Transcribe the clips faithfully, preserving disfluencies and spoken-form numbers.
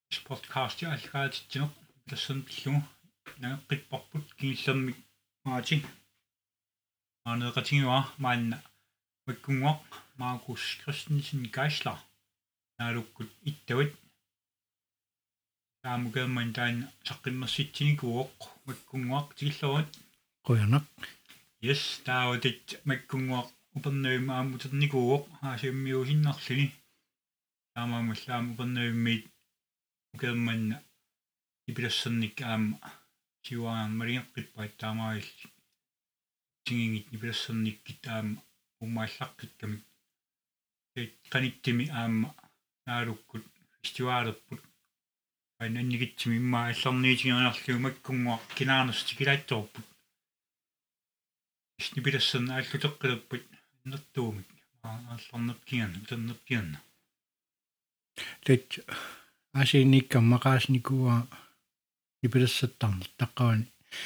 podcast алгаатитсинеқ тассун пиллугу нагеққиппарпут кигиллэрмик маати аанеқатигуа маанна маккунгуақ Маркус Кристенсен Гайслер наалуккут иттават таамукааман таан саққиммерситсиникуоқ маккунгуақ тигиллерут қуянақ yes тааватит маккунгуақ упернуима аамутерникуоқ аасиуммиусиннарлуни таамаамуллаам упернуиммит укаамманна ипилассерник аама сиуаан малингеққиппаат таамаалли тингингит ипилассерниккит аама уммааллаққиккамик э каниттими аама наалуккут фестивалерпут айнаннигитсими имма аллерниитигернарлугу маккунгуақ кинаарнерс килаатторпут снипилассерна ааллутеққилерпут нертуумик ааллернеркиган утернеркиганна тэт асиникка мақаасникуа ипилассаттарнер таққавани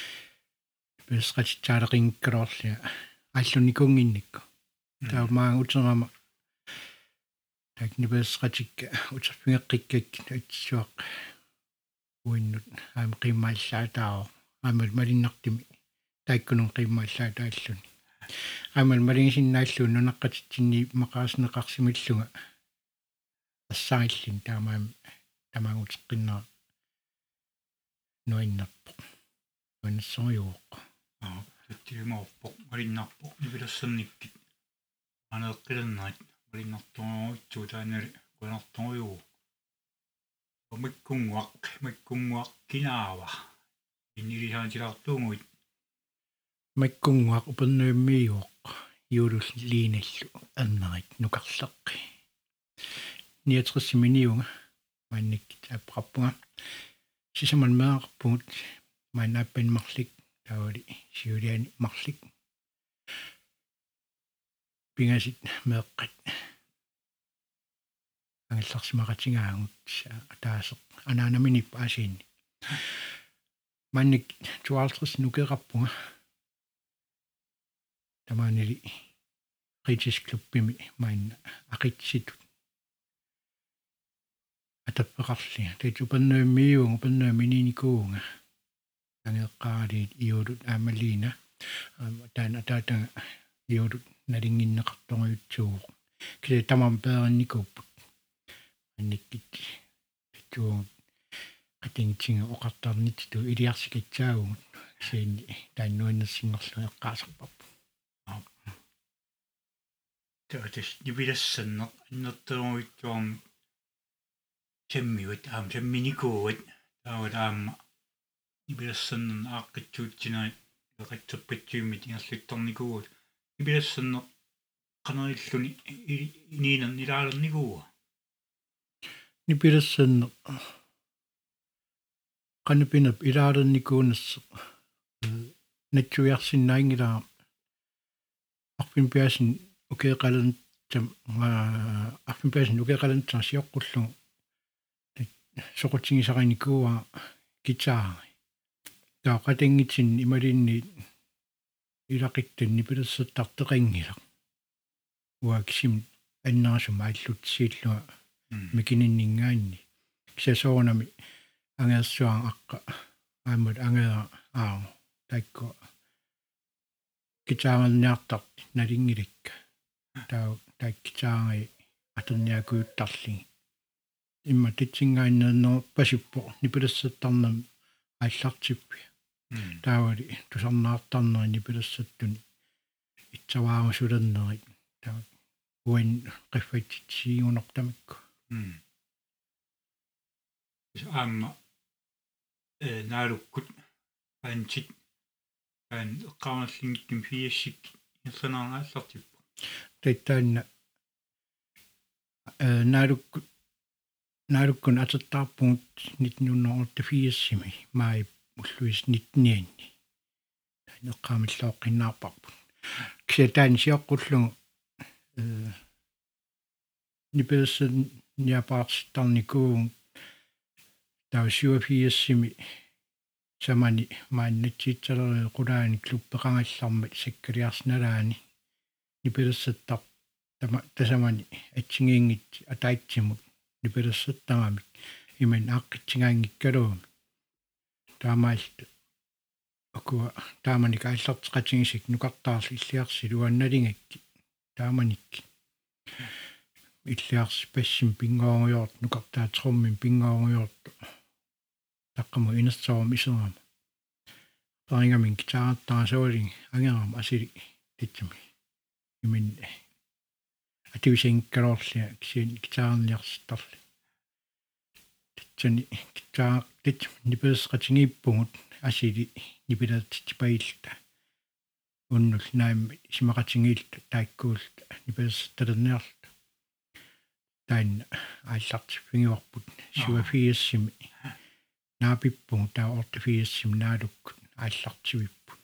ипилассқатитсаалеқингккалоорлиа аллуникунгинникку таамаа утерама так нипилассқатикка утерпингеққиккак атсуақ уиннут аам қиммааллаатао аамал малиннартими таиккунун қиммааллаатааллуни аамал малингисиннааллуун нунаққатитсинни мақааснеқарсимиллунга ассаиллин таамаам тамаагутеққиннера нуиннарпо нуиннассориуоқ аа таттимаорпо малиннарпо ипилассерниккит анеққилернерит малиннартунгуутсуу таанали кунарторюу маккунгуақ маккунгуақ кинаава иннилисаатилартуугуит маккунгуақ упернуиммиуоқ юулул лииналлу аннерит нукарлеққи ниатрисиминиунга манниккит аппарпунга сисаман меақарпугут маннааппин марлик таавали сиулиани марлик пингасит меэққат ангилларсимақатингаагут таасеқ анаанаминип аасиинни манник туалтрис нукеқарпунга тамаанили фритисклуббими маанна ақитситут атаппеқарли тэт упаннуиммиуун упаннуимининикуунга тангеққаалиит иулут аамалиина таана таатага иулут налингиннеқарторюутсууг киле тамам пеерникууппут анниккит туу атингтинга оқартарнитту илиарсикитсаагугут сиинни тааннуиннерсингерлу эққаасарпарпу тэтэс нибилассаннеқ иннертеруитсуарм теммиут аам темминикуут таавалаама ибилассаннерн ааққитсуутсинаат эқатсерпатсиуммит ингерлутторникуут ибилассаннеқ қанериллуни иниинер нилаалерникууа нипилассанне канапинап илаалерникуунассе натсуиарсиннаингилаа арфин пиасин укеэқален там арфин пиасин укеэқален тасиоққуллу соқутсигисариникуа гитаари таақатингитсин ималинни илақиттун нипилассаттартеқингила уаксим аннаасум ааллутсииллуа микининнингаанни кисасоонами ангерсуан аққа аамат ангера аа такко гитаарнниартарт налингиликка таа таккитаари атерниакуuttарли имма титсингааннернер пасиппо нипилассаттарнам ааллартиппи таавали тусарнаартарнери нипилассаттуни итсаваагусулернери таа уин қиффатсигунортамакку аама э наалуккут панчит пан эққарнерлингким фиассик иссанаарааллартиппу таттаанна э наалуккут наалуккун атертаарпугут нитнуннерортафиассими маи уллуис нитнианни таанеққамиллооққиннаарпарпут кисатаани сиоққуллугу э нипелсэн ниапаарситтарникуун таусиуафиассими самани мааннатсиитсалериу қулаани клуппеқангаллармат саккалиарсналаани нипелсаттар тама тасамани атсигиингит атаитсимут нипелсаттарамик imen aqqitsingaangikkaluum taamaalt akua taamani kaallarteqatigisik nukartaarli illiarsi luannalingakki taamanikki illiarsi passim pingooriort nukartaaterummin pingooriort taqqamu inersorum iserama paringamin kitaartaasuulin angeram asili titsumi imin ativisingikkalorlia kisiin kitaarniarsittarli titsani kitaa tit nipersqatingiippungut asili nipilaatitipailta unnul naimmi simaqatingiilta taikkuulta nipersertalerniarta tainna ааллартиффигиуарпут суафиассими наапиппугу таа ортифиассими наалуккут ааллартивиппут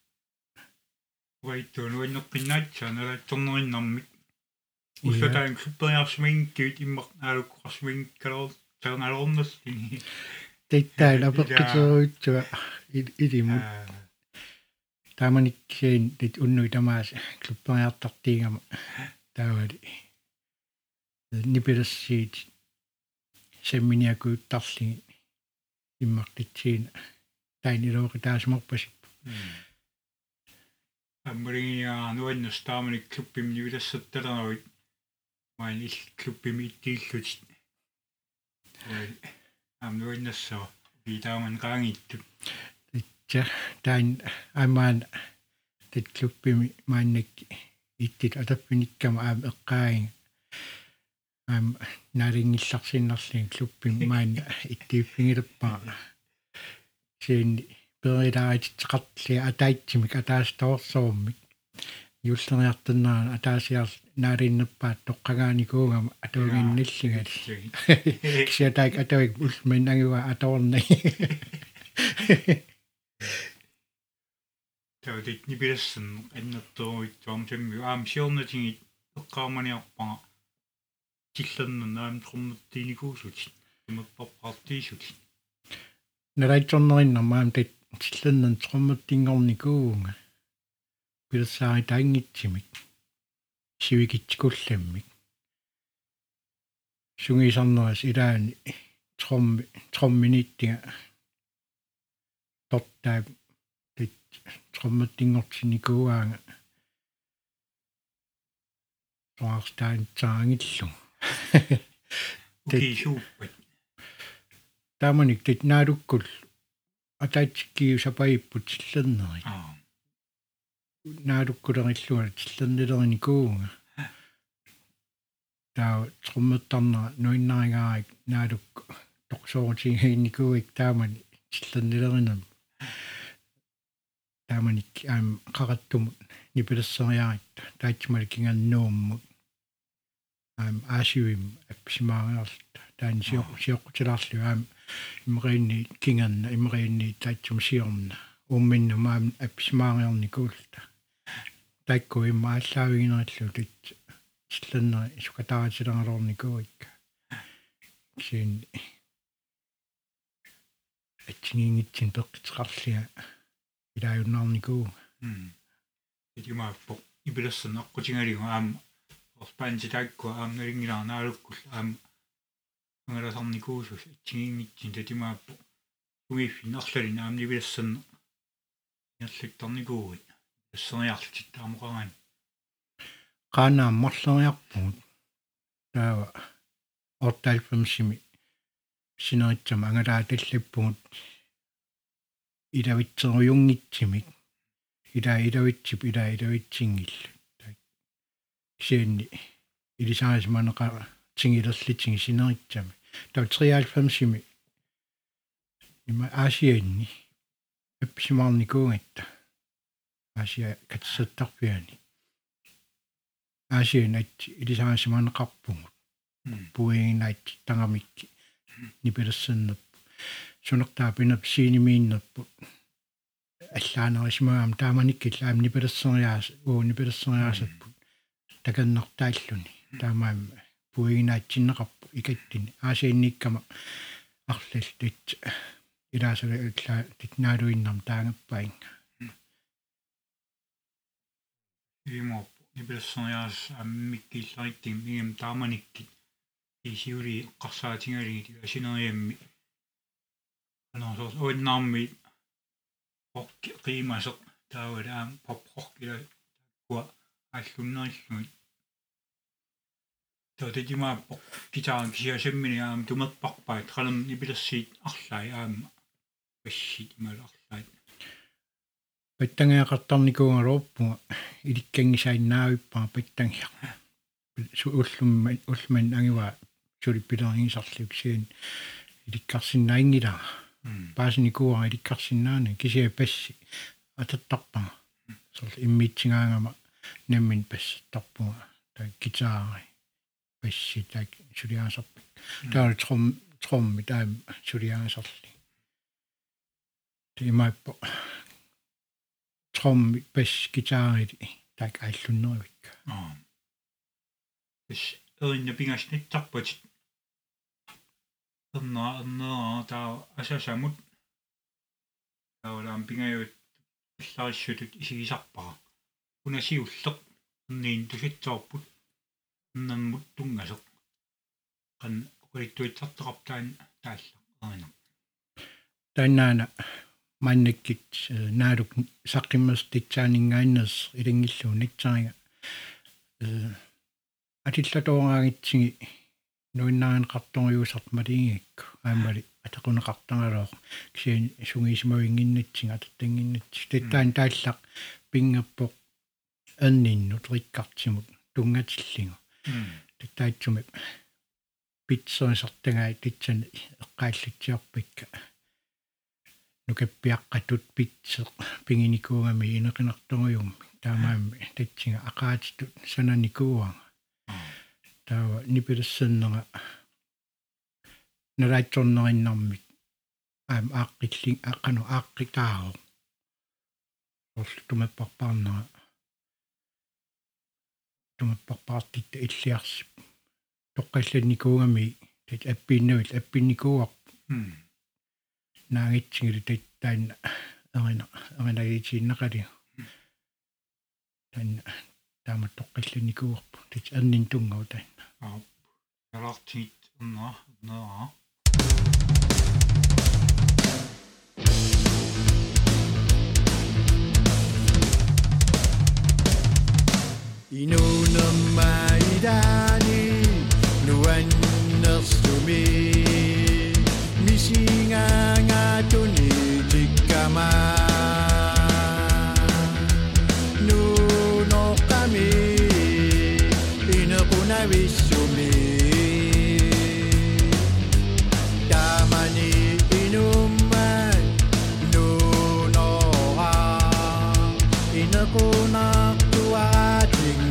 вайтон уиннеққиннаатсаа налатторнериннармик уссатаан клуппериарсимингкиит иммақ наалуккуарсимингкалоор таерналорнерлини титтаа лапеққитеруитсуа илимут тааманиккиин тит уннуи тамаас клуппериартартиигама таавали нипилассиит семминиакуuttарлиги иммартитсиина тайнилооқи таасморпасип аммариа нуаннас тааманик клуппим нивилассатталеруит маан ил клуппими иттииллутит ой амнуаннассаа видааман qaangiittut итса таин амаан тит клуппими мааннакки иттит атаппиниккама аам эққааин аам нарингилларсиннарлин клуппими маан иттииппингилеппаа сиин перилаатитеқартли атаитсимик атаастаорсоормик юллериартаннаа атаасиар наалиннеппаат тоққагааникуугама атуагинниллигали кисиатаик атуик улмин ангуа аторни тавдит нибилассан аннерторуит туамсамми аам сиорнатингит эққааманиарпаа тиллернэ наам трумматтиникуусут имаппаппартиисут нарайторнериннармаам тат тиллернэн трумматтингорникуунга пилсаари таангитсимик сивикитсикулламмик сунгисарнерас илаани трумми трумминиттига тоттаа тит трумматтингортиникууаага соарстаан таангиллу тисууппат тааманик тит наалуккул атаатиккиу сапаиппут силлернери наалуккулериллуа тиллернилерникуунга таа трумматтарнера нуиннаригаарик наалук торсоорутигиинникууик таамани тиллернилеринам тааманик аам қараттумут нипилассериаритта таатсималикинганнууммут аам аасиуим апписимаариарлта таани сиоқ сиоқутилаарлу аам имериинни кинганна имериинни таатсум сиорна умминну маам апписимаариорникуулта таикку иммааллаавигинериллу тит силланнери исукатааратилералорникууикка син атсигингитсин пеққитеқарлиа илааюннаарникуу м итимааппо ибилассана аққутингалигу аам орпаанти таакку аам налингилаарнаалуккул аам ангаласарникуусус атсигингитсин татимааппо уиффин арлалин аам нибилассанна ярлиттарникууит ассериарлтит таамоқаран qaanaa morleriarpugut taava ortaalpamsimi sineritsama angalaa tallappugut ilavitserujungitsimik ilaa ilavitsip ilaa ilavitsingillu kisianni ilisaasimaneqa tingilerlitingi sineritsami tav treoghalvfemsimi ima aasiaanni appisimaarnikuungatta aasia katsattarpiani аасианат илисаасиманеқарпугут пуингинаат тангамикки нипилассаннерпу сунертаа пинап синимииннерпут аллаанерисмаам тааманиккил аам нипилассериаас уу нипилассериаасаппут таканнартааллуни таамаам пуингинаатсиннеқарпу икаттини аасианниккама арлал тит илаасала илла титнаалуиннарм таангаппаинга имо нибелсониас аммиккиллариттим мигам тааманиккит isiuli qarsaatingaligi asineriammi anorsoors uinnaarmi orki qiimaseq taawalaam popqorkila kua аллуннериллугит таатитимааппо гитаран кисиасаммини аама тумерпарпаат қалам нипилерсиит арлаи аама пассит ималарлаит паттангеақартарникуунгалуорпунга иликкангисаиннаавиппаа паттангиа су уллумма уллуман ангива сулиппилернгисарлук сиин иликкарсиннаингила паасникуа иликкарсиннаани кисиа пасси ататтарпаа сорл иммитсингаангама неммин пассаттарпунга таа гитаари пасси таа сулиаасарпик таа тром тромми таа сулиаасарли тимааппо тромми пасс гитаари таа ааллуннеривик аа эс эринна пингасниттарпат эрна эрна таа асасамут таалаам пингаюут иллариссутут исигисарпара унасиуллеқ нин туситсоорпут ннаммут тунгасеқ қан оқалиттуитсартеқартаан таалла эрина танаана маннаккит наалук саққиммерститсаанингааиннерс илингиллуу натсарига э атиллатоораагитсиги нуиннаан қарторюусарт малингикку аамали атақунеқартангалоо кисиан сунгисимавингиннатсига ататтангиннатси таттаан тааллақ пингаппоқ аннинну триккартимут тунгатиллигу таттаатсуми питсоисартагаа титсан эққааллатсиарпикка нукаппиаққатут питсе пингиникуугами инеқинарторюумми таамаамми татсига ақаатитут сананикууага таава нипилессаннера налаатсорнериннармик аам ааққилли аққану ааққитаао орлтумаппарпаарнера тумаппарпаартит иллиарсип тоққалланникуугами тат аппииннавил аппинникууар наагитсигили таттаанна эрина эринагитсииннақали тан таама тоққалланникууарпу тат аннин тунгау таанна аа ялартит эрнаа эрнаа Inunamaidani nuannerstumi misingangatuni tikkama nunoqami inequnavissumi tamani inumman nunora inequnaqtuarat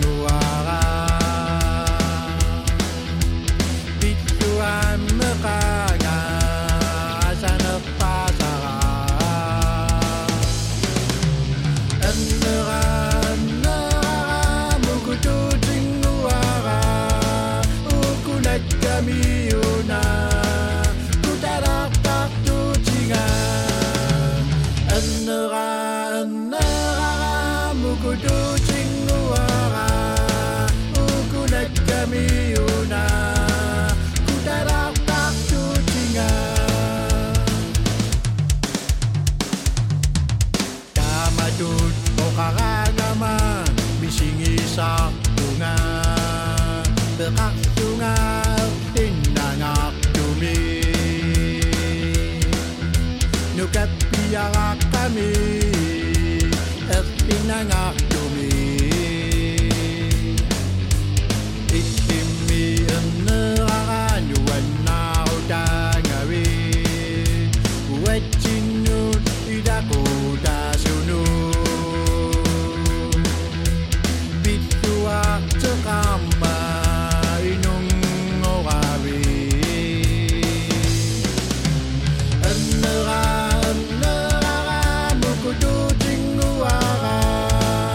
sa bunga beraktunga innangak tumi nukapiara kami innangak tumi ikimi ennera nuanna udangawi wetchinut idaku dasunu Kamba inung orawi Ennera ennera mukudu tinguara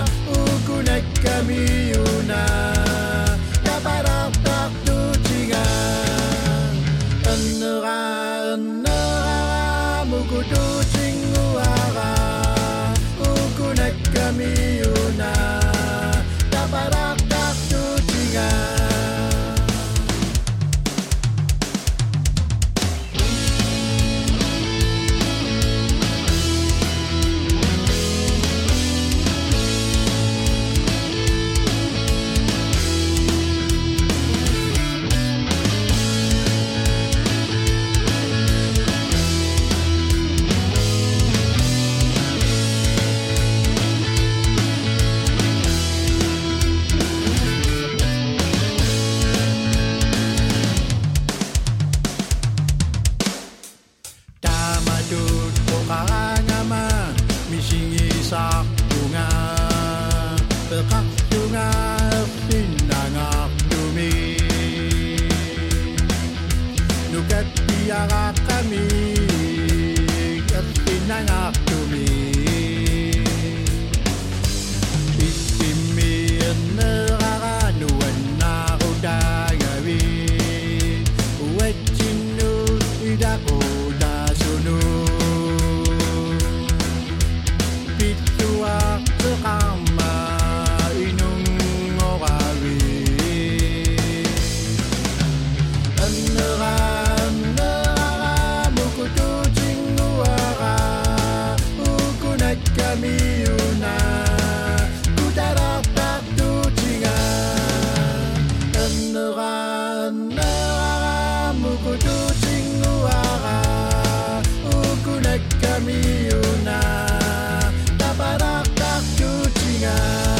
Tukattiaraqami Kattinangartumi Ittimmi enneraranuannarutagavi Uatsinnu idaqutasunu Pittuaqteqarma inungoravi Kamiuna kutaratak tutinga Enera enera mukutu tinguara Ukunak kamiuna taparatak tutinga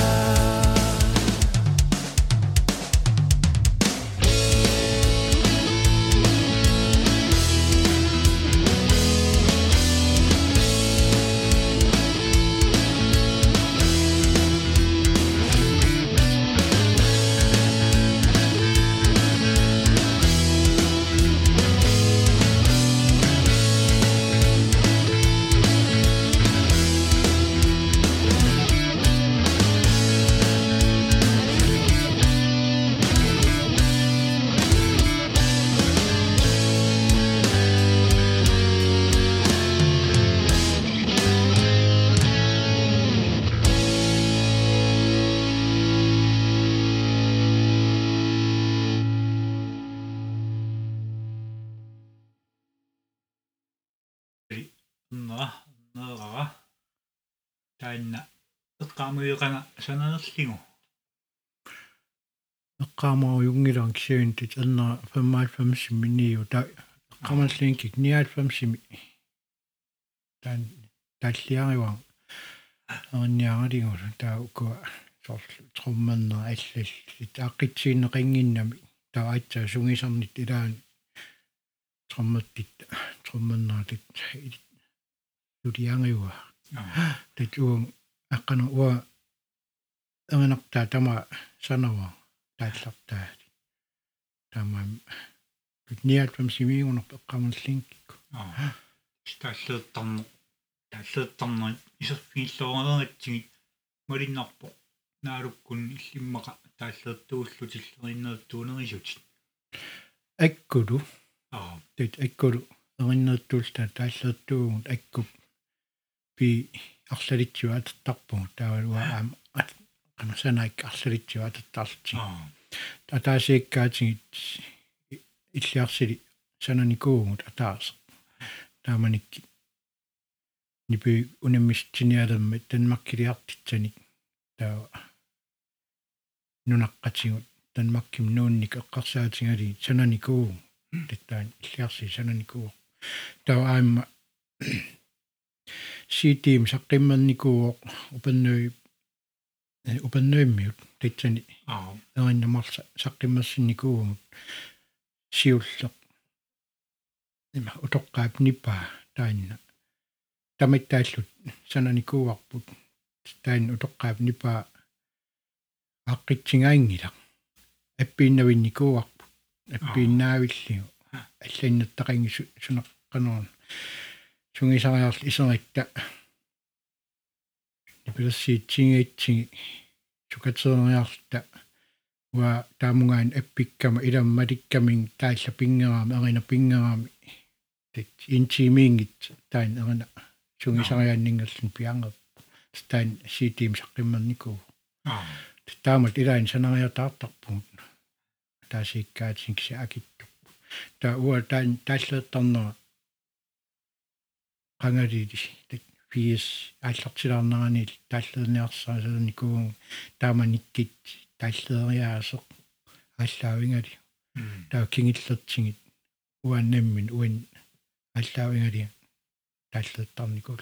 Nā, nā, tainna eqqaamuiqanga sananerlingu eqqaamaujungilaang kisiuntit anna femmaifamsimi miniu ta eqqamalliinkik niaatfamsimi tan talliariwang aranniarangalingula taa ukua sorlu trommanna allallit aaqitsiinneqinginnami taa aitsaa sungisarnit ilaani trommattit trommannaatit Ludiangiwa. Det uang akan uang anak ta tama sanawa tatlapta tama niat pam simi unok kaman linkik. Ah. Stallettarnu tallettarnu isерфииллоорнератсигит малиннарпо нaalukкун илlimmaqa тааллертууллутиллериннеруттуунерисутит. Akkulu. Ah. Det akkulu erinnertuulta taallертуугут аккуп пи арлалитсуа аттарпу таавалуа аам канасанаик арлалитсуа аттартарти татаасииккаатигит иллиарсили сананикуугут атаарс тааманикки нипи унаммистиниалерма танмаккилиартитсаник таа нунаққатигут танмакким нуунник эққарсаатингали сананикуу таттаан иллиарси сананикуу таа аама ситим саққимманникуу упаннуи упаннуиммиут татсани аа эриннамарса саққиммассинникуу сиуллеқ има утоққаап ниппаа таанна тамиттааллут сананикууарпут таан утоққаап ниппаа аққитсингаангила аппииннавинникууарпут аппииннаавиллиу алланнаттақангису сунеққанерун сунгисариарл исерикта нипилассиитсингиитсиги сукатерериарлта уа таамунгаан аппиккама иламмаликкамин таалла пингераами арина пингераами тит интимиингит таан арина сунгисариааннингерлун пиангер таан ситим саққиммерникуу аа таамат илаин санариатаартарпугут таасииккаатсин киса акиттуппу таа уа таан тааллеэттарнера qangalili fiis ааллартилаарнераани тааллерниарсаасаникуу тааманиккит тааллериаасе ааллаавингали таа кингиллертигит уаннаммин уан ааллаавингали тааллеэттарникул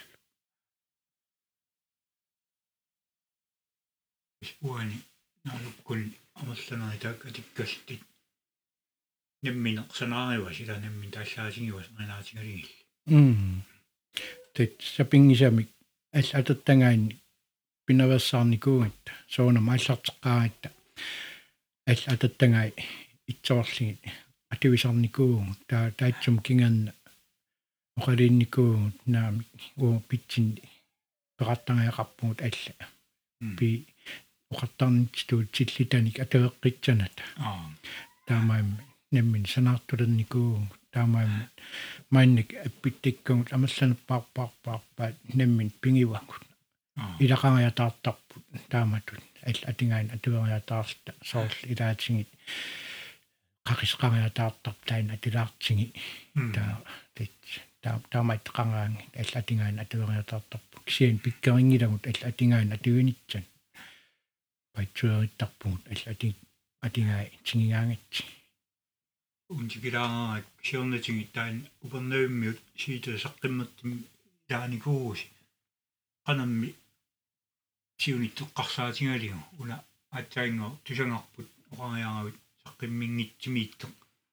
уани налуккул амерланеритаак атиккалтит намминеқ санаариуа сила наммин тааллаасингиуас нанаатингалигил м тэт сапингисамик аллататтангаани пинавассаарникуугат соона мааллартеққаагатта аллататтангаи итсоорлигит ативисарникуу таа таатсум кинган оқалинникуу наами уу питсин пеқартангаяқарпугут алла пи оқартарнитсуу тиллитаник атавеққитсаната таамаим неммин санаартулерникуу таамаим майник аппиттиккугут амалланерпаарпаарпаарпаат неммин пингивакут илақангаяатаартарпут тааматут алла атингаан атуериатаарта соорл илаатингит қақисқангаяатаартарп таина атилаартинги таа тит таа таамайт қангаанги алла атингаан атуериатаартарпу кисиан пиккерингилагут алла атингаан атуинитсан пайтсуериттарпугут алла ати атингаа тингигаангатси унтикилаангаат сиорнатинги таан упернавиммиут сиитусаққимматтим тааникууси qanammi siunitteqqarsaatigalиу уна аатсаинго тусангарпут оqaриаравит саққиммингитсимииттоқ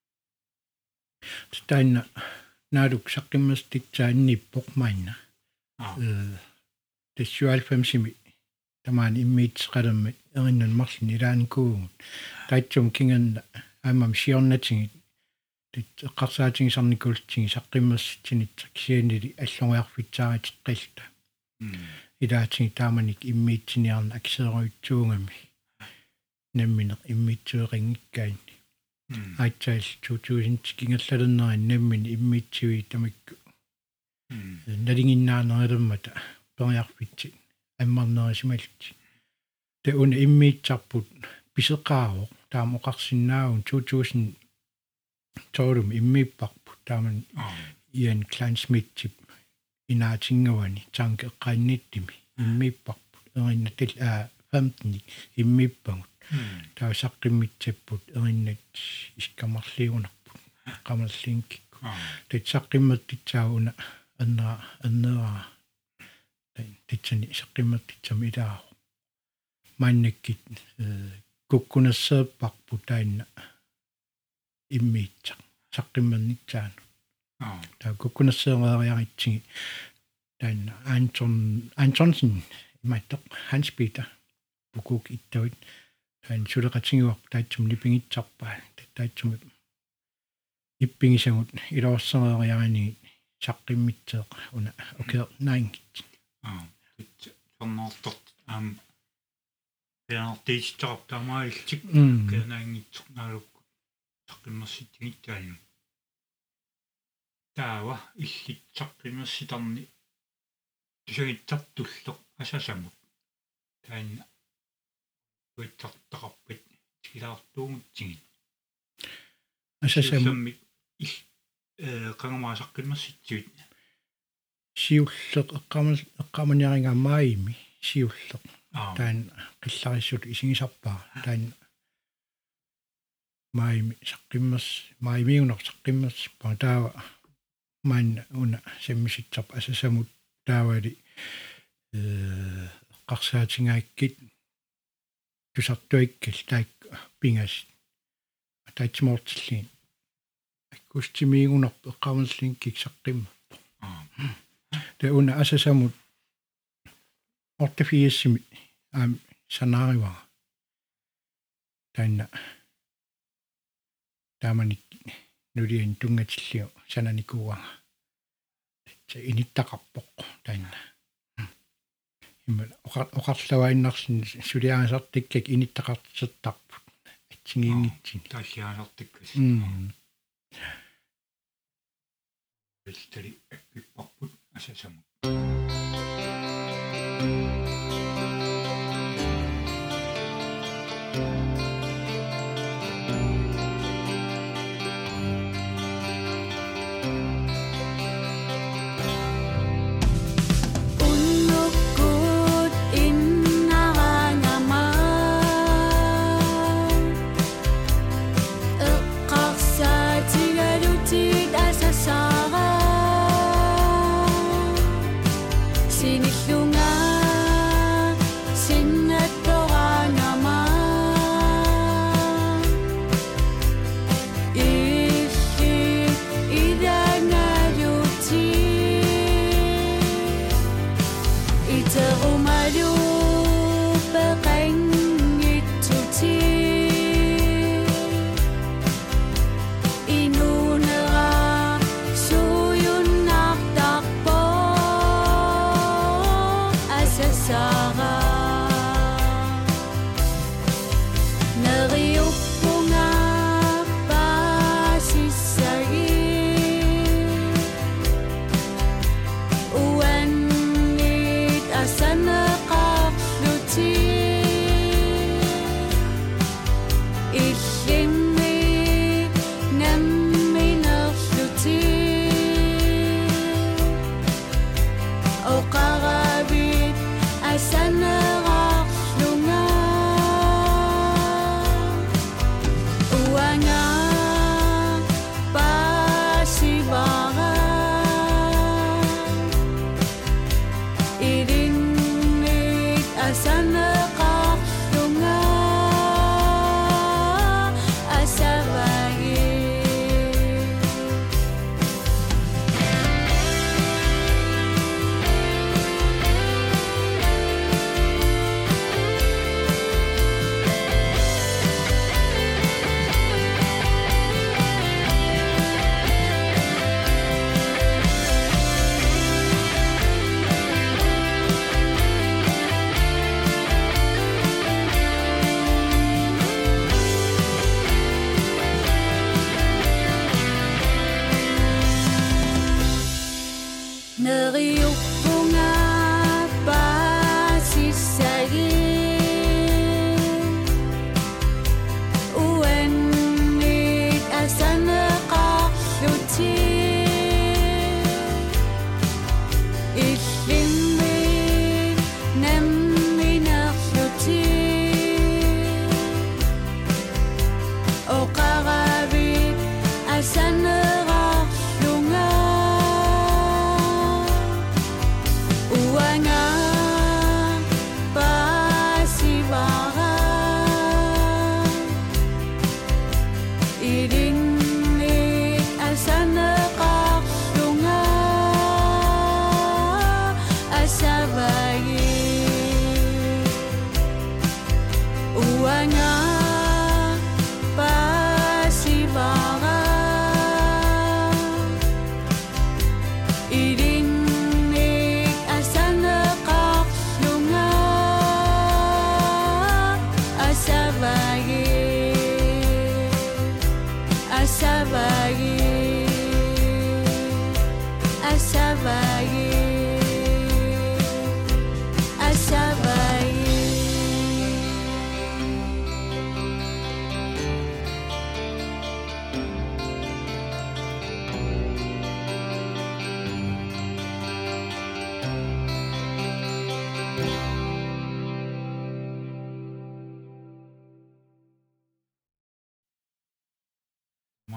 таина наадук саққиммаститсаанниппоқ маинна э тэсюалфэмсими тамаан иммиитсеқалерми эриннан марлин илааникуугут таатсум кинганна аамам сиорнатингит тит эққарсаатингисарникултсиги саққиммасситсинитса кисианили аллориарфитсаагатеққилта илаатинги тааманик иммиитсиниарна аксееруитсуугами намминеқ иммиитсуеқингиккаани аатсаал two thousand кингаллалернери наммини иммиитсиуи тамикку налингиннаанерилэрмата периарфитси аммарнерисималти те уна иммиитсарпут писеқаароқ таама оқарсинаагун two thousand тоорум иммииппарпут тааман иан клансмитсип инаатингавани танке эққаанниттими иммииппарпут эриннатил аа femten иммииппагут таа саққиммитсаппут эриннат иккамарлиунарпут қамаллингкикку тат саққимматтитсаагуна аннера аннера титсани саққимматтитсами илаа маннаккит куккунассеэппарпут таинна иммиитсақ саққимманнитсаану таа куккунассеэриариаритсиги таинна Anton Antonsen иматтоқ Hans Peter букук иттавит таин сулеқатингуар таатсум нипингитсарпаа таатсум иппингисагут илоорсериариарини саққиммитсеэқ уна окей наингит аа тит соннортот ам пиартиичтарп таамаалтик кенаангитсоқ налукку саққиммерситигиттаани таава иллит саққиммерситарни тусагиттартуллеқ асасамут таанна уиттартақарпит тилаартуугутсигит асасамут ил э қангамаасаққиммерситсуит сиуллеқ эққамал эққаманиарингаамаими сиуллеқ таан қиллариссут исигисарпаа таан маими саққиммерс маимиунер саққиммерс патаава ман уна семмиситсарп асасамут таавали э қарсаатингааккит тусартуиккал таак пингас атаатсимортиллиин аккустимиигунерп эққамаллингкик саққимма тэ уна асасамут ортафиассими аам санаарива таанна тааманик нулиин тунгатиллиу сананикууага тэ иниттақарпоқ таанна иммал оқарлаваиннарсин сулиаасартиккак иниттақартсертарпут атсигиингитсин тааллиаасартиккас элтери аппиппарпут асасамут Eqqarsaatigalutid asasara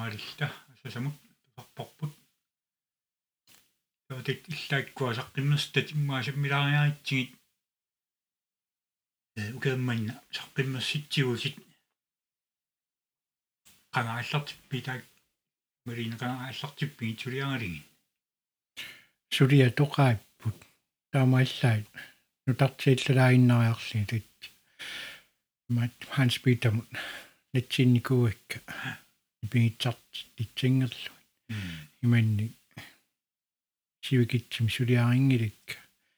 таалилта асасамут сарпарпут таатит иллааккуасаққиммерс татиммаасаммилаариаритсигит э укеэмманна саққиммерситсигусит qanaallartippi taak marina qanaallartippi tuliangaligi sulia toqaipпут таамааллаит нутартииллалаагиннариарли тит мат Hans Peter нэтсинникуакка ипигитсарт титсингерлу иманни сивикитсим сулиарингиликка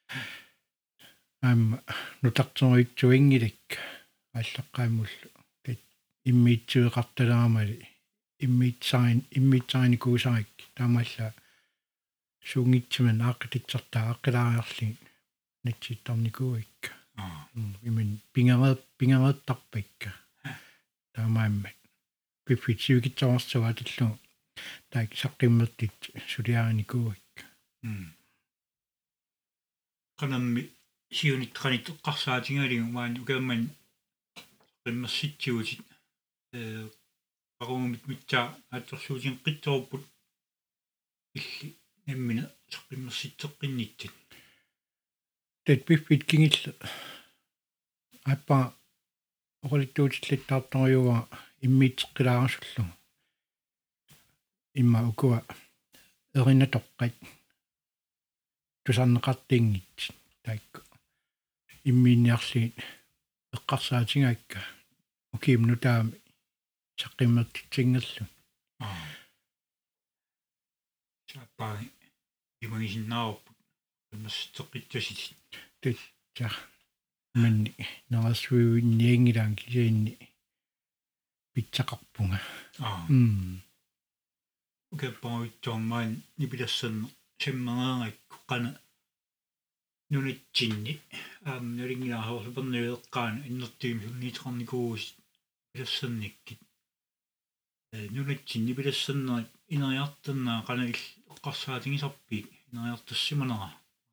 аама нутартеруитсуингиликка аллаққааммуллу тит иммиитсуеқарталаамали иммиитсаин иммиитсааникуусарик таамаалла сунгитсиман ааққитсартаа аққилаариарли натситтарникуикка имэн пингерэ пингерэттарпикка таамаамма пиппитсивикитсаварсуа атиллу таак саққиммертит сулиааникуикка канамми сиунитқанит эққарсаатингалигу маан укаамман qimmersitsigusит э парумит митсаа аатсорсуутин қитсоорпут илли наммина саққиммерситсеққинниттит тэт пиппит кингилла аппа оралиттуутиллаттаарторюга иммиитеққилаарсуллу имма укуа эринатоққат тусарнеқартингит таакку иммиинниарли эққарсаатингаакка укиимнутаами саққиммертитсингерлу аа чаппаа имагисиннаарпут иммерситеққитсусит тэтса манни нарасуиуинниангилаан кисиинни питсақарпунга аа м укеппаруитсуармаан нипилассерне саммерееракку қана нунитсинни аам нулингилаарсупернуеэққаана иннертиим сунниитеқарникуус пилассерниккит э нунитсинни пилассернерит инериартернаа қана ил эққарсаатингисарпи инериартассиманера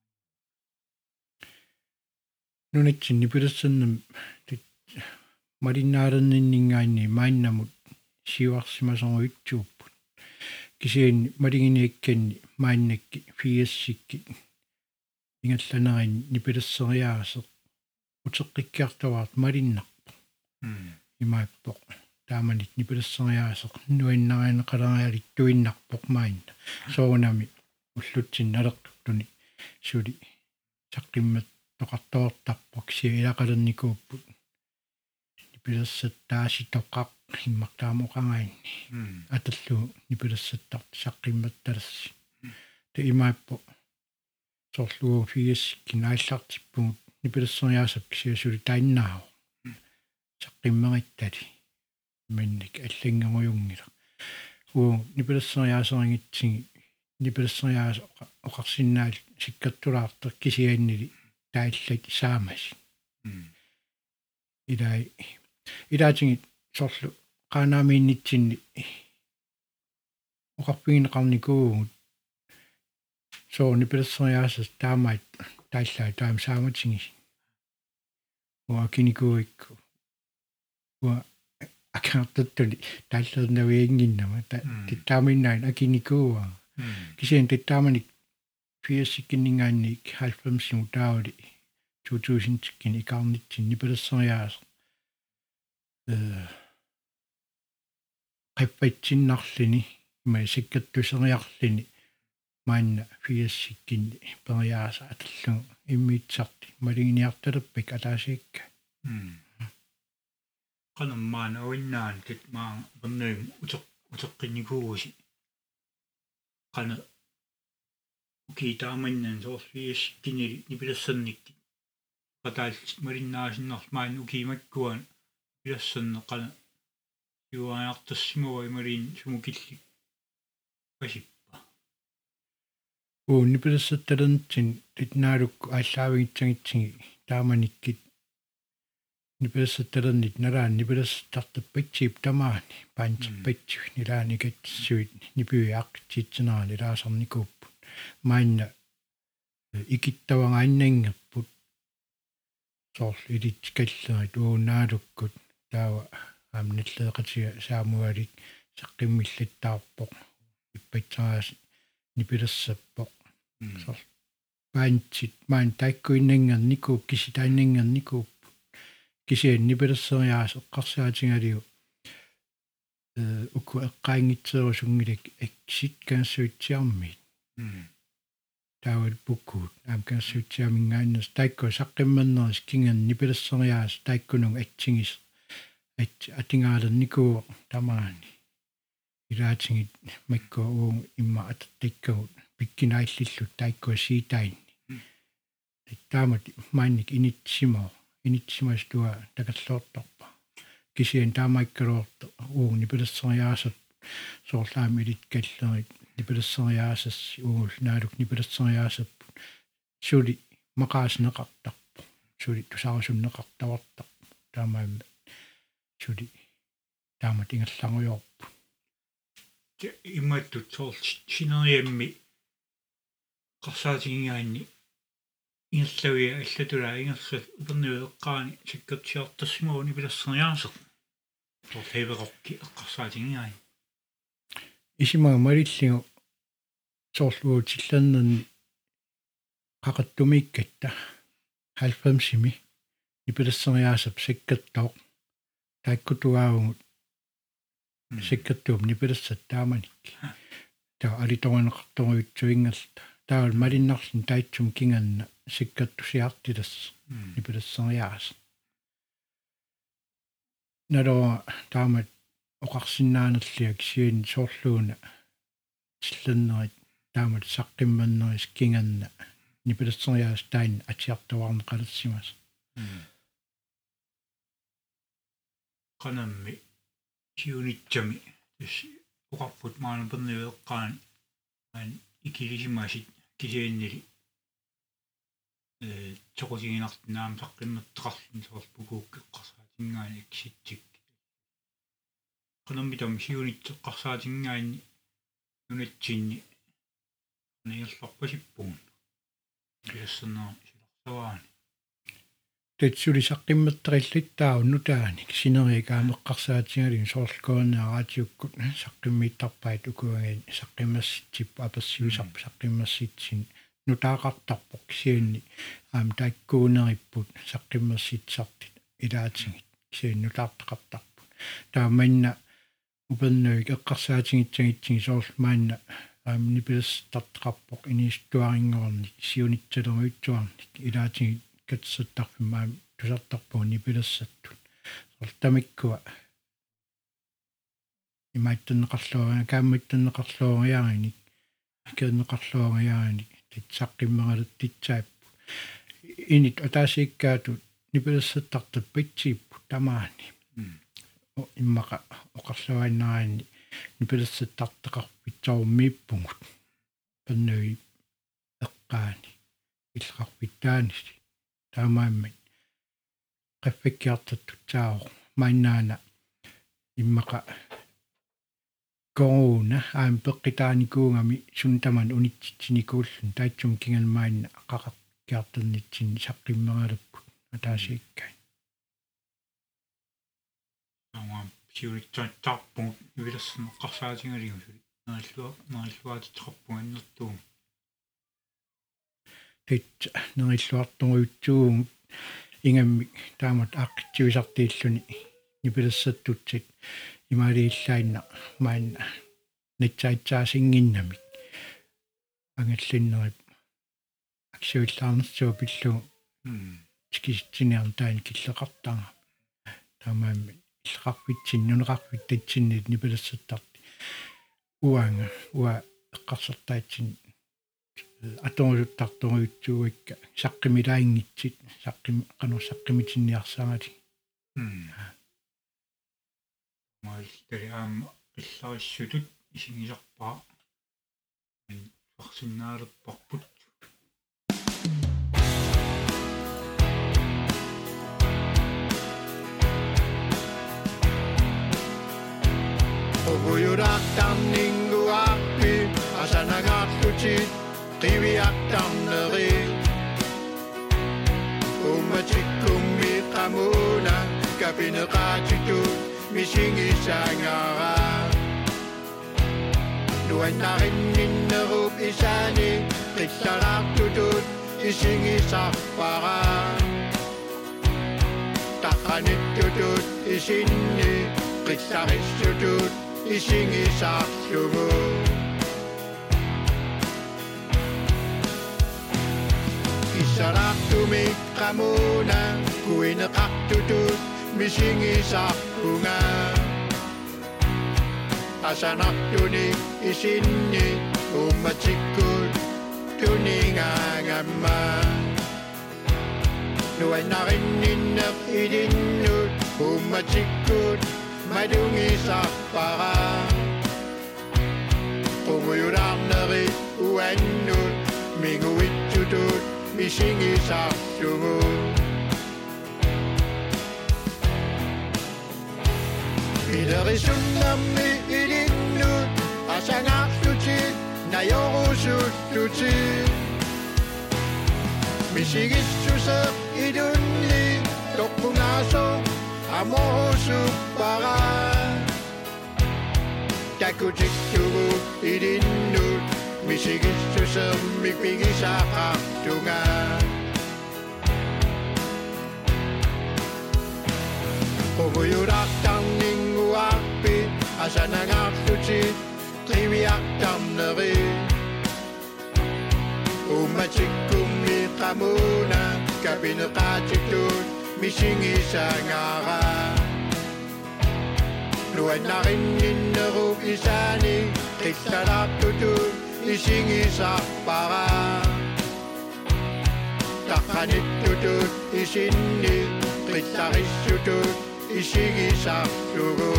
нунитсинни пилассернам тит маринаарерниннингаанни маиннамут сиварсимасоруитсууппут кисиин малигиниакканни маиннакки фиассикки ингалланерин нипилассериаасе утеққиккиартаваарт малиннарпо имааппо тааманит нипилассериаасе нуиннарианеқалариалит туиннарпоқ маинна соонами уллутсин алертуни сули саққиммат тоқартоортарпо киси илақалерникууппут нипилассаттааситоқақ иммартаамоқангаинни аталлу нипилассаттарт саққимматталасси те имааппо сорлуу фиассиккин ааллартиппугут нипилассериаасап кисиасули таиннаау саққиммериттали манник аллангамуюнгила уу нипилассериаасерингитсиги нипилассериаас оқарсиннаал сиккаттулаартер кисианнили таиллат саамас илай илаатингит сорлу qanaamiinnitsinni оқарпигинеқарникуугут соо нипилассериаасас таамаит таиллаа таам сааматсингис уа киникуикку уа акаартаттули тааллернавиингиннама та титтааминнаан акиникууа кисиан титтааманик фиассиккиннингаанник халфамсиму таавали two thousand кини икаарнитсин нипилассериаас э qippaitsinnaarlini ima sikkattuseriarlini maanna fiassikkini periaasa atallu immiitsarti malinginiartaluppak alaasiikka qanammaana uinnaан tit maa pernuim uteq uteqqinikuusi qana ukiitaamannan soorfiassikkini nipilassernikki qataalt malinnaasinnarmaan ukiimakkuan pilasserne qana юаартассимава ималин сумукилли пасиппа уу нипилассатталернитсин титнаалукку ааллаавигитсагитсиги тааманиккит нипилассатталернит налаан нипилассартарпатсиип тамаани паантиппатсиг нилааникатсуит нипиуиаққитсинерани лаасарникууппут маинна икиттавангааннангерпут сорл илит каллерит уунаалуккут таава амниллеэқатига саамуалик saqqimmillattaarpoq ippaitsaas nipilersappoq so paantsit maan taikkuinnangernikuu kisitainningernikuu kisian nipilerseriaas eqqarsaatiнгaliu э уку эққаингитсерусунгилак аксит канссуитсиарми таавал пуккуут аам канссуитсиамингааннас таикку саққимманнерис кинган нипилессериаас таиккунун атсигис ат атингаалерникуу тамаани илаатингит макко уун имма ататтиккагут пиккинаиллиллут таикку сиитаинни таамат маанник инитсимо инитсимастуа такаллоортарпа кисиан таамаиккалуорто уун нипилессериаасат соорлаами илиткаллерит нипилессериаасас уул наалук нипилессериаасап сули мақаасинеқартарпу сули тусаарусуннеқартавартарпу таамаамма сули таамат ингерлангуйорпу имматтут соорл синериамми қарсаатигингаанни ингерлавиа аллатула ингерсат упернуэққаани сиккертсиартассимуу нипилессериаасеқ торфеверокки эққарсаатигингаани исимага малиллигу соорлуутиллернерни qaqattумиккатта halvfemsimi нипилессериаасап сиккертоо таиккутугаагугут сиккертуум нипилессат тааманик таа алиторинеқарторуитсуингерлта таавал малиннарлин таитсум кинганна сиккертусиартилас нипилессериаас наро таамат оқарсиннаанерлиак сиин соорлууна силлернерит таамат саққимманнерис кинганна нипилессериаас таин атиартуарне қалассимас qanammi siunitsami tis uqarput maanuperniueqqaani aan ikilisimaasit kisiinnili э тоқусигинартнаам саққимматтеқарлун соорпукууккеққарсаатингаани акситсик qanammitam siunitseqqarsaatinngaani nunatsinni ниерларпасиппуун иассанаа силарсаваани тэцули саққимматтариллиттаа нутаани синериикаамеққарсаатингалин соорлкоонаараатиуккут саққиммиттарпаит укуагаан саққимасситсип апассиусарп саққимасситсин нутаақартарпоқ кисианни аам таиккуунериппут саққимасситсартит илаатингит кисиан нутаартақартарпут тааманна упернуик эққарсаатингитсагитсиги соорлмаанна аам нипилес тартақарпоқ иниистуарингорник сиунитсалеруитсуарник илаатингит катсаттарфимаам тусартарпуу нипилессаттут сортамиккуа имааттаннеқарлуараа каамматтаннеқарлуариааник икернеқарлуариааник титсаққиммералут титсааппу инит атаасиккаатут нипилессаттартап питсииппу тамаани иммақа оқарлуааннараани нипилессаттартеқарпитсааруммииппугут паннуи эққаани иллеқарпиттааnis таамааммат qaffakkiartattut taao maannaana immaqa corona aam peqqitaanikuungami suntaman unitsitsinikuullun taitsum kingalmaanna qaqarkiarternitsin saqqimmeralapput ataasiikkai ама сиунитсаатсаарпугут нивилерсинеққарсаатингалигусули нааллуа нааллуаатитеқарпуганнэртуум тит нериллуартугуутсуун ингамми таамат ааққитсуисартииллуни нипилессаттутсит имаалииллаинна маанна натсаитсаасингиннамик ангаллиннерип аксуиллаарнерсуа пиллу тикиситсиниарн таани киллеқартаага таамаамми иллеқарпитсин нунеқарпит татсиннит нипилессаттарти уанга уа эққарсертаатсин аторуттартуруутсууикка саққимилаингитсит саққими қано саққимитинниарсаагати маалтали аама иллариссутут исигисарпаа фарсиннаалерпарпут Oguyurattarninguarpi asanangaarlutit qiviartarneri ummatikkummi qamuna kapineqaatitut misingisangara nuannarinninnerup isani qittarartutut isingisarpara taqanittutut isinni qittarissutut isingisarlugu isarartumi qamuna kuineqartutut misingisarpunga asanartuni isinni ummatsikkut tuningaangamma nuannarinninneq ilinnut ummatsikkut madungisarpara qumuyularnerit uannut minguitsutut misingisarlugu Ilerisunnermi ilinnut asangartutit najorusuttutit misigitsuseq idunni toqpungaso amorusuppara takutiktugu ilinnut misigitsusermik pigisaqartunga quvuyulaqtarninguarpi asanangartutit qiviaqtarneri ummatikkummi qamuna kapineqaatittut misingisangara nuannarinninnerup isani qittarartutut isingisarpara taqanittutut isinni qittarissutut isingisarlugu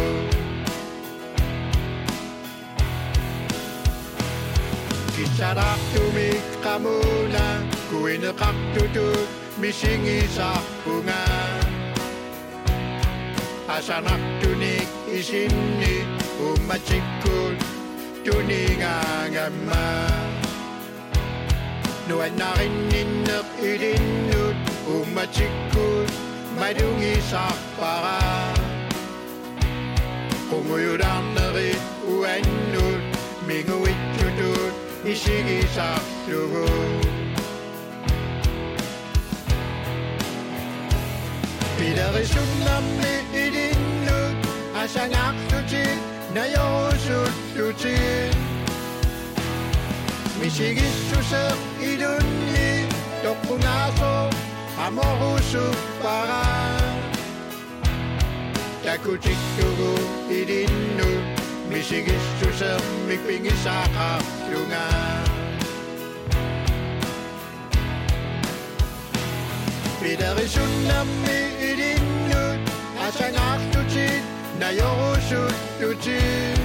kisarartumi qamuna kuineqartutut misingisarpunga asanartunik isinni ummatsikkut tuningaangamma nuannarinninneq ilinnut ummatsikkut madungisarpara qumuyularnerit uannut minguitsutut isingisarlugu Ilerisunnermi ilinnut asangartutit najorusuttutit misigitsuseq idunni toqpungaso amorusuppara takutiktugu ilinnut misigitsusermik pingisaqarlunga Ilerisunnermi ilinnut asangartutit najorusuttutit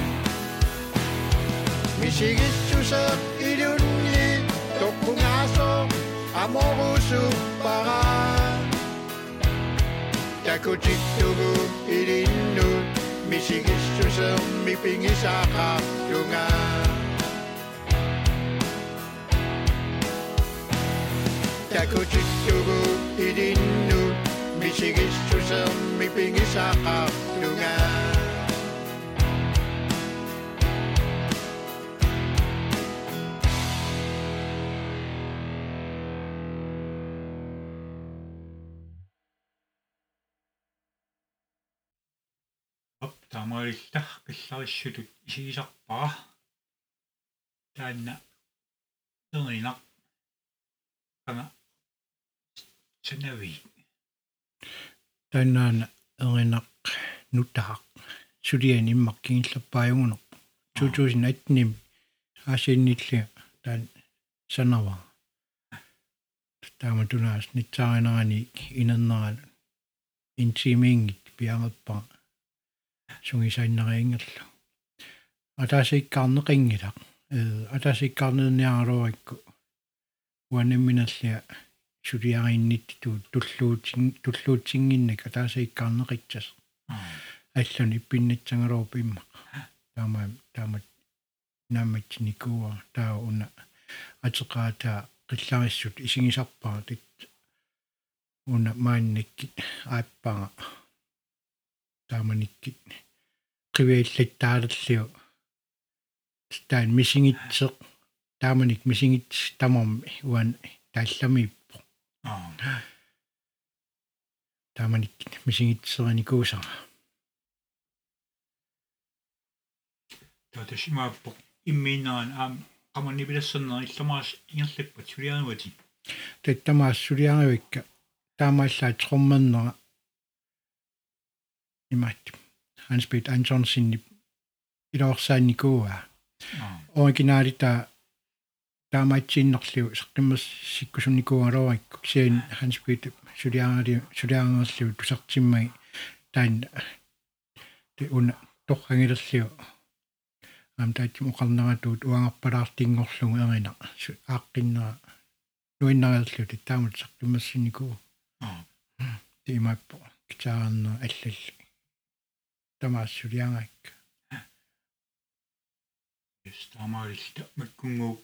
misigitsuseq idunni toqpungaso amorusuppara takutiktugu ilinnut misigitsusermik pingisaqarlunga takutiktugu ilinnut misigitsusermik pingisaqarlunga тамаалилла пилларissutut isigisarpara taanna ternaq kana sanavi танаана эринақ нутаақ сулиани иммаккингиллаппааюнгунеқ two thousand eight ним аасииннилли таан санава тааматунаас нитсааринерани инернерал интимингит пиангаппа сунгисаиннериингерлу атаасиккаарнеқингилақ э атаасиккаарнерниаралуакку уанамминаллиа сулиарииннитту туллуутин туллуутингиннак атаасиккаарнеқитсас аллуни иппиннатсангалуруп имма таама таама намматникуа таа уна атеқаата қиллариссут исигисарпаа тит уна маанникки ааппага тааманикки қивииллаттаалерлиу таан мисингитсеq тааманик мисингитс тамарми уан таалламииппо аа тааманик мисингитсераникуусара тааташимааппо иммииннаан аам qamani bilassernera illamaas ingerlippat sulianuati таттамаассулиаривикка таамааллаат qormannera имаат Hans-Peter Antonsen илоорсаанникууа оригиналита таамаатсииннерлу саққиммас сиккусунникууалоорикку кисиан Hans-Peter сулиаари сулиаарнерлу тусартиммаги таан те уна торрангилерлу ам таатим оқарнератуут уангарпалаартингорлугу эрина ааққиннера нуиннерерлу таамат саққиммассинникуу аа тимаппо китаарна аллалли тамаассулиагаакка стамаарилта маккунгуу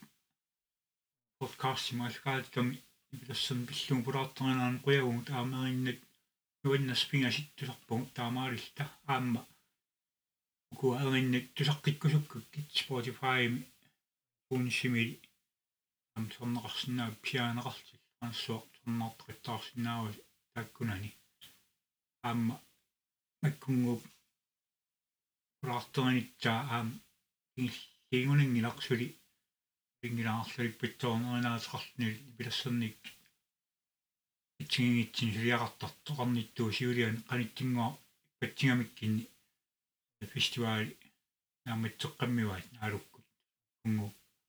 подкаст сималгаалтами билассан биллугу пулаартернаан қуягумут аамериннат нуиннаспингасит тусарпугу таамаарилта аама ку эриннат тусаққиккусуккуккит Spotify уншимили ам сорнеқарсинаа пиаанеқартил ассуақ сорнеартақиттаарсинаава таккунани аама маккунгуу пулаартернитсаа аам ингунингиларсули ингилаарлули питторнеринаасеқартни билассерник итсигингитсин сулиақартартоқарниттуу сиулиан қаниттингуа патсигамиккинни фестивал нааматсеққаммиваат наалуккут кунгу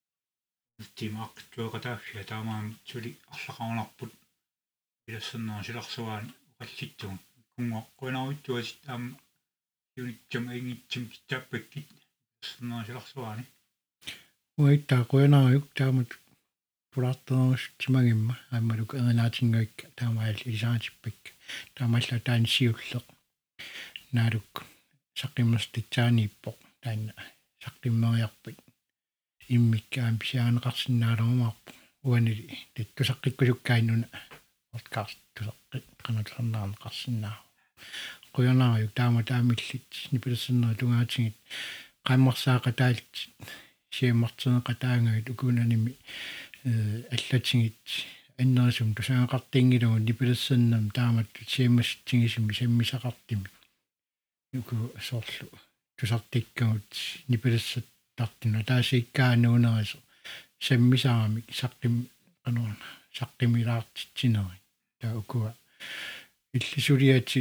тимаақtuaqataaffia таамаам сули арлақарнарпут билассернера силарсуаани оқаллиттугут кунгуа қуинааруттуасит аама юнитсам ингитсим китааппаккит сэрнера силарсуаани уиттаа қуинаарук таамат пулаартернерус тимагимма аамалук эрнаатингуикка таамаал илисаатиппак таамаалла таан сиуллеқ наалук саққиммаститсаанииппоқ таанна саққиммериарпит иммиккаам писиаанеқарсинаалерумаарпо уанили таттусаққиккусуккаиннуна подкаст тусаққит қанатернаарнеқарсинаа қуянаарук таама таамиллит нипилассернера тугаатингит қаммарсаақатаалт сиаммартенеқатаангагит укунаними э аллатингит аннерисум тусаақартингилугу нипилассернам таамат сиаммасситсигисими саммисақартими юку соорлу тусартиккагут нипилассат тартина таасиккаануунерисо саммисарамик саққим кануна саққимилаартитсинери таа укуа иллисулиати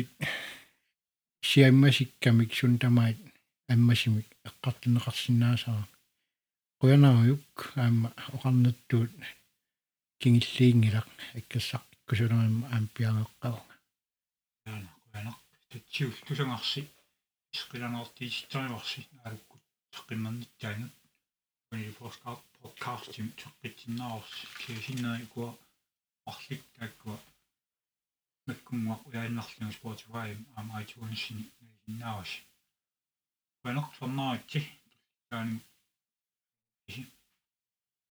сиаммасиккамик сун тамаат аммасимик эққартинеқарсинаасара қуянаарук аама оқарнаттуут кингиллиингилақ аккассаққиккусулерим аам пиагеққавга яана қуянақ татсиул тусангарси исқиланартииситариварси наалуккут саққиммерниттаана уни подкаст подкастим таққитсиннаарс кисиннери куа арлик таккуа маккунгуа уяаннарлугу Spotify ам iTunes ниннаавас ванақ сорнаатти таани